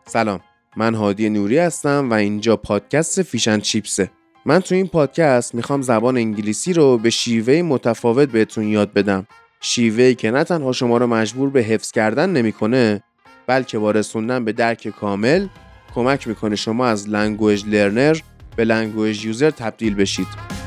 سلام، من هادی نوری هستم و اینجا پادکست فیش اند چیپسه. من تو این پادکست میخوام زبان انگلیسی رو به شیوه متفاوت بهتون یاد بدم. شیوهی که نه تنها شما رو مجبور به حفظ کردن نمیکنه، بلکه با رسوندن به درک کامل کمک میکنه شما از لنگویج لرنر به لنگویج یوزر تبدیل بشید.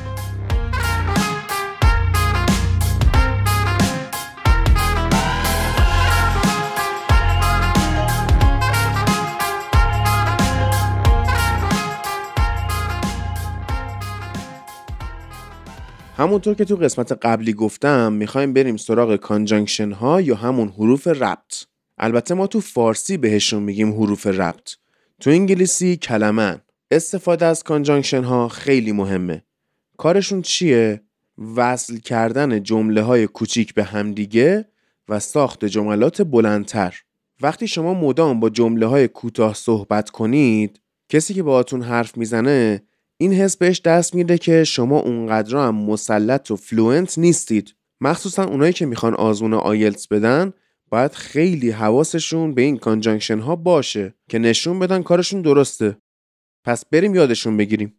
همونطور که تو قسمت قبلی گفتم میخوایم بریم سراغ کانجانکشن ها یا همون حروف ربط. البته ما تو فارسی بهشون میگیم حروف ربط. تو انگلیسی کلمن. استفاده از کانجانکشن ها خیلی مهمه. کارشون چیه؟ وصل کردن جمله های کوچیک به همدیگه و ساخت جملات بلندتر. وقتی شما مدام با جمله های کوتاه صحبت کنید، کسی که باهاتون حرف میزنه این حس بهش دست میده که شما اونقدر هم مسلط و فلوئنت نیستید. مخصوصا اونایی که میخوان آزمون آیلتس بدن باید خیلی حواسشون به این کانجانکشن ها باشه که نشون بدن کارشون درسته. پس بریم یادشون بگیریم.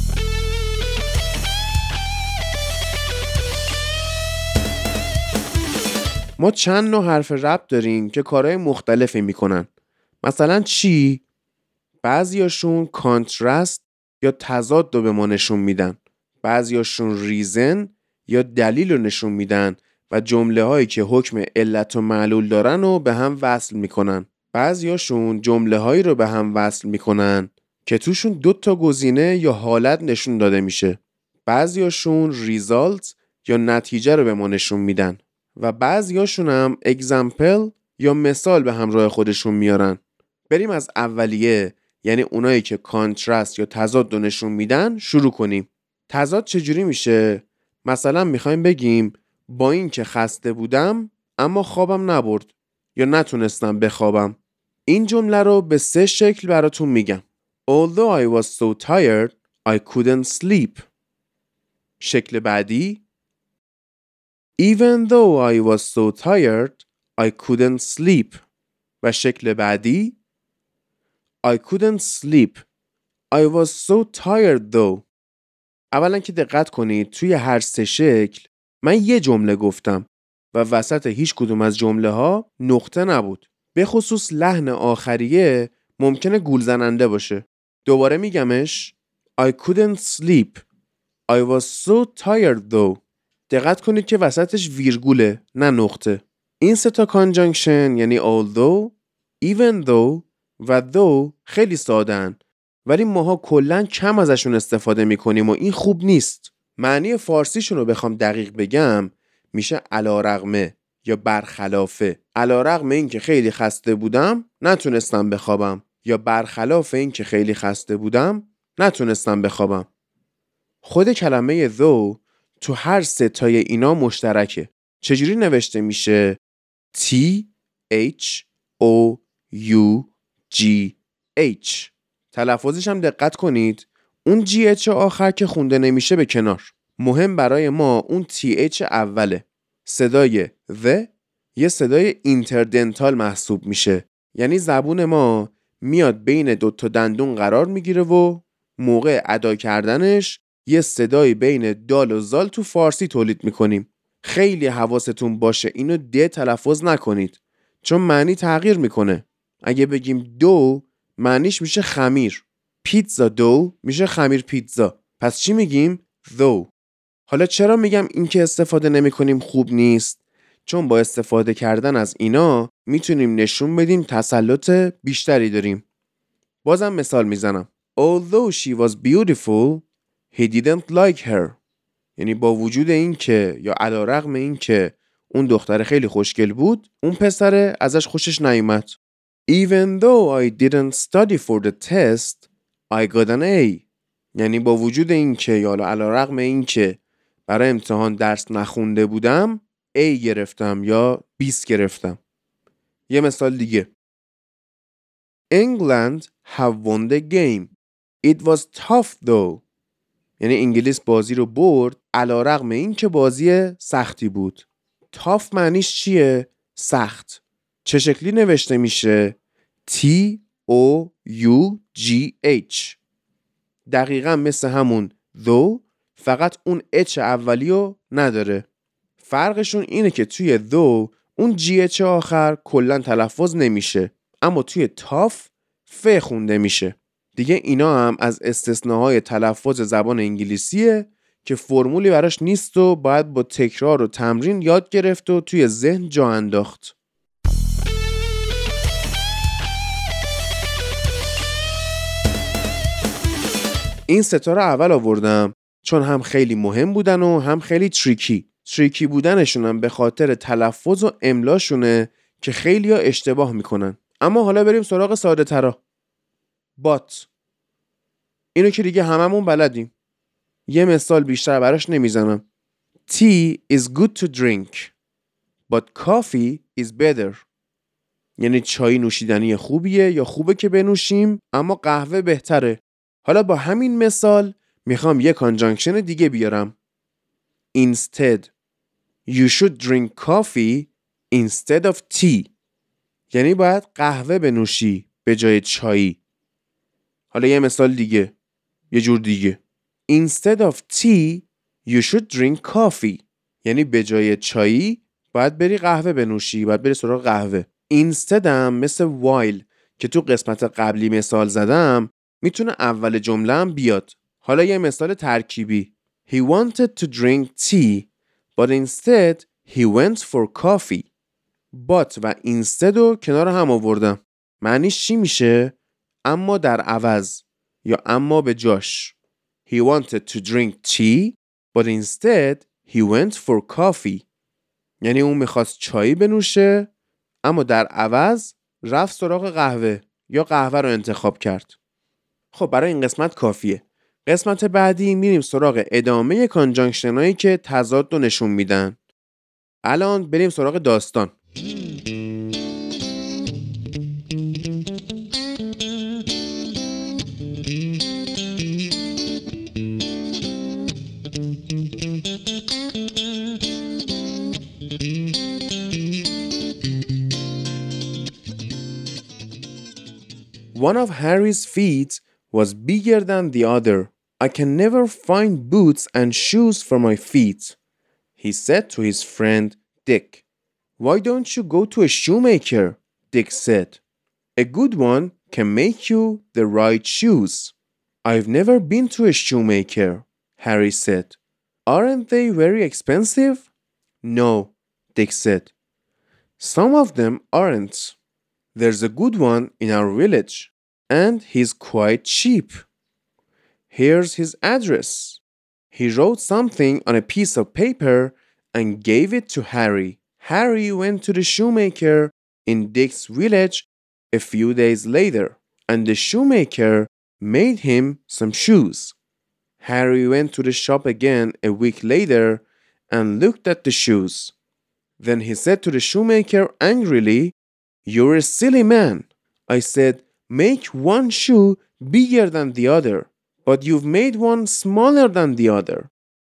ما چند نوع حرف ربط داریم که کارهای مختلفی میکنن. مثلا چی؟ بعضیاشون کانترست یا تضاد رو به ما نشون میدن. بعضیاشون ریزن یا دلیل رو نشون میدن و جمله هایی که حکم علت و معلول دارن رو به هم وصل میکنن. بعضیاشون جمله هایی رو به هم وصل میکنن که توشون 2 تا گزینه یا حالت نشون داده میشه. بعضیاشون ریزالت یا نتیجه رو به ما نشون میدن و بعضیاشون هم اگزمپل یا مثال به همراه خودشون میارن. بریم از اولیه، یعنی اونایی که کانترست یا تضاد رو نشون میدن شروع کنیم. تضاد چجوری میشه؟ مثلا میخوایم بگیم با این که خسته بودم اما خوابم نبرد یا نتونستم بخوابم. این جمله رو به 3 شکل براتون میگم. Although I was so tired, I couldn't sleep. شکل بعدی Even though I was so tired, I couldn't sleep. و شکل بعدی I couldn't sleep. I was so tired though. اولا که دقت کنید توی هر 3 شکل من یه جمله گفتم و وسط هیچ کدوم از جمله ها نقطه نبود. به خصوص لحن آخریه ممکنه گول زننده باشه. دوباره میگمش I couldn't sleep. I was so tired though. دقت کنید که وسطش ویرگوله نه نقطه. این 3 تا کانجانکشن یعنی although, even though و though خیلی ساده‌ان ولی ماها کلاً کم ازشون استفاده میکنیم و این خوب نیست. معنی فارسیشون رو بخوام دقیق بگم میشه علی‌رغم یا برخلافه. علی‌رغم این که خیلی خسته بودم نتونستم بخوابم یا برخلاف این که خیلی خسته بودم نتونستم بخوابم. خود کلمه though تو هر 3 تای اینا مشترکه. چجوری نوشته میشه؟ T H O U G H. تلفظش هم دقت کنید اون GH آخر که خونده نمیشه به کنار. مهم برای ما اون TH اوله. صدای the یه صدای اینتردنتال محسوب میشه، یعنی زبون ما میاد بین 2 تا دندون قرار میگیره و موقع ادا کردنش یه صدای بین دال و زال تو فارسی تولید میکنیم. خیلی حواستون باشه اینو د تلفظ نکنید چون معنی تغییر میکنه. اگه بگیم دو معنیش میشه خمیر. پیتزا دو میشه خمیر پیتزا. پس چی میگیم؟ دو. حالا چرا میگم این که استفاده نمی کنیم خوب نیست؟ چون با استفاده کردن از اینا میتونیم نشون بدیم تسلط بیشتری داریم. بازم مثال میزنم. Although she was beautiful, he didn't like her. یعنی با وجود این که یا علی‌رغم این که اون دختر خیلی خوشگل بود، اون پسر ازش خوشش نیومد. Even though I didn't study for the test, I got an A. یعنی با وجود این که یا علی‌رغم این که برای امتحان درس نخونده بودم A گرفتم یا 20 گرفتم. یه مثال دیگه. England have won the game. It was tough though. یعنی انگلیس بازی رو برد علی‌رغم این که بازی سختی بود. tough معنیش چیه؟ سخت. چه شکلی نوشته میشه؟ T O-U-G-H. دقیقا مثل همون though، فقط اون H اولیو نداره. فرقشون اینه که توی though اون GH آخر کلن تلفظ نمیشه، اما توی تاف ف خونده میشه. دیگه اینا هم از استثناهای تلفظ زبان انگلیسیه که فرمولی براش نیست و باید با تکرار و تمرین یاد گرفت و توی ذهن جا انداخت. این ستا رو اول آوردم چون هم خیلی مهم بودن و هم خیلی تریکی بودنشون هم به خاطر تلفظ و املاشونه که خیلی ها اشتباه میکنن. اما حالا بریم سراغ ساده ترا. بات، اینو که دیگه هممون بلدیم، یه مثال بیشتر براش نمیزنم. Tea is good to drink but coffee is better. یعنی چای نوشیدنی خوبیه یا خوبه که بنوشیم اما قهوه بهتره. حالا با همین مثال میخوام یه کانجانکشن دیگه بیارم. Instead you should drink coffee instead of tea. یعنی باید قهوه بنوشی به جای چایی. حالا یه مثال دیگه، یه جور دیگه. Instead of tea you should drink coffee. یعنی به جای چایی باید بری قهوه بنوشی، باید بری سراغ قهوه. Instead هم مثل while که تو قسمت قبلی مثال زدم میتونه اول جمله هم بیاد. حالا یه مثال ترکیبی. He wanted to drink tea but instead he went for coffee. But و instead رو کنار هم آوردم. معنیش چی میشه؟ اما در عوض یا اما به جاش. He wanted to drink tea but instead he went for coffee. یعنی اون میخواست چایی بنوشه اما در عوض رفت سراغ قهوه یا قهوه رو انتخاب کرد. خب برای این قسمت کافیه. قسمت بعدی میریم سراغ ادامه کانجانکشن هایی که تضاد رو نشون میدن. الان بریم سراغ داستان. One of Harry's feet was bigger than the other. I can never find boots and shoes for my feet, he said to his friend Dick. Why don't you go to a shoemaker? Dick said. A good one can make you the right shoes. I've never been to a shoemaker, Harry said. Aren't they very expensive? No, Dick said. Some of them aren't. There's a good one in our village, and he's quite cheap. Here's his address. He wrote something on a piece of paper and gave it to Harry. Harry went to the shoemaker in Dick's village a few days later, and the shoemaker made him some shoes. Harry went to the shop again a week later and looked at the shoes. Then he said to the shoemaker angrily, "You're a silly man. I said, make one shoe bigger than the other, but you've made one smaller than the other."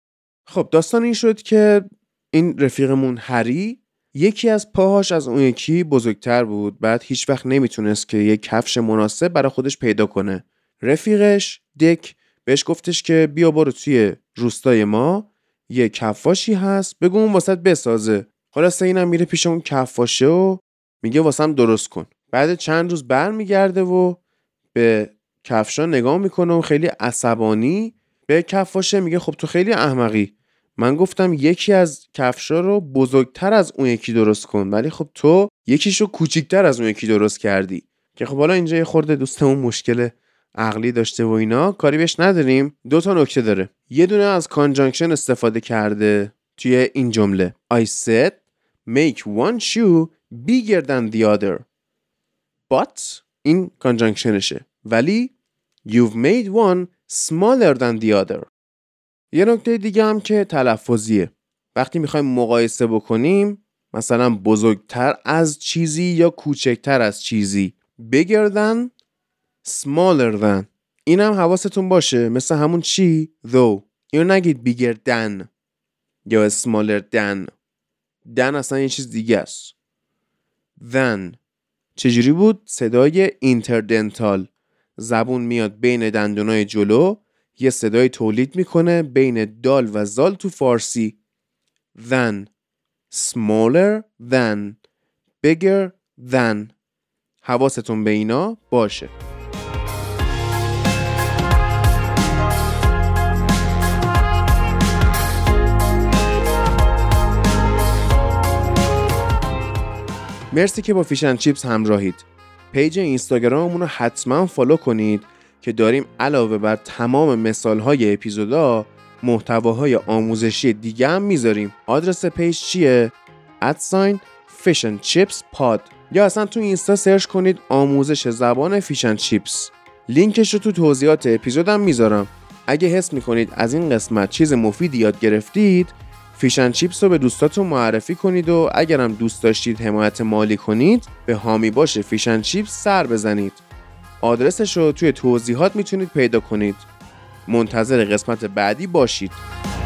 خب داستان این شد که این رفیقمون هری یکی از پاهاش از اون یکی بزرگتر بود. بعد هیچ وقت نمیتونست که یک کفش مناسب برای خودش پیدا کنه. رفیقش دک بهش گفتش که بیا برو توی روستای ما یه کفاشی هست، بگو اون واسط بسازه. خلاصه اینم میره پیش اون کفاشه و میگه واسم درست کن. بعد چند روز برمیگرده و به کفشا نگاه میکنه و خیلی عصبانی به کفاشه میگه خب تو خیلی احمقی. من گفتم یکی از کفشا رو بزرگتر از اون یکی درست کن، ولی خب تو یکیشو کوچیکتر از اون یکی درست کردی. که خب حالا اینجا یه خورده دوستمون مشکل عقلی داشته و اینا، کاری بهش نداریم. دو تا نکته داره. یه دونه از کانجانکشن استفاده کرده توی این جمله. I said make one shoe bigger than the other. But این کانجانکشنشه. ولی you've made one smaller than the other. یه نکته دیگه هم که تلفظیه. وقتی میخوایم مقایسه بکنیم، مثلا بزرگتر از چیزی یا کوچکتر از چیزی، bigger than smaller than، این هم حواستون باشه. مثل همون چی؟ though. اینو نگید bigger than یا smaller than. than اصلا یه چیز دیگه است. than چجوری بود؟ صدای اینتردنتال، زبون میاد بین دندونای جلو، یه صدای تولید میکنه بین دال و زال تو فارسی. than، smaller than، bigger than. حواستون به اینا باشه. مرسی که با فیش اند چیپس همراهید. پیج اینستاگراممون رو حتما فالو کنید که داریم علاوه بر تمام مثالهای اپیزودا محتواهای آموزشی دیگه هم میذاریم. آدرس پیج چیه؟ @fish and chips pod، یا اصلا تو اینستا سرچ کنید آموزش زبان فیش اند چیپس. لینکش رو تو توضیحات اپیزودم میذارم. اگه حس میکنید از این قسمت چیز مفیدی یاد گرفتید، فیش اند چیپس رو به دوستاتون معرفی کنید و اگرم دوست داشتید حمایت مالی کنید، به حامی باشه فیش اند چیپس سر بزنید. آدرسش رو توی توضیحات میتونید پیدا کنید. منتظر قسمت بعدی باشید.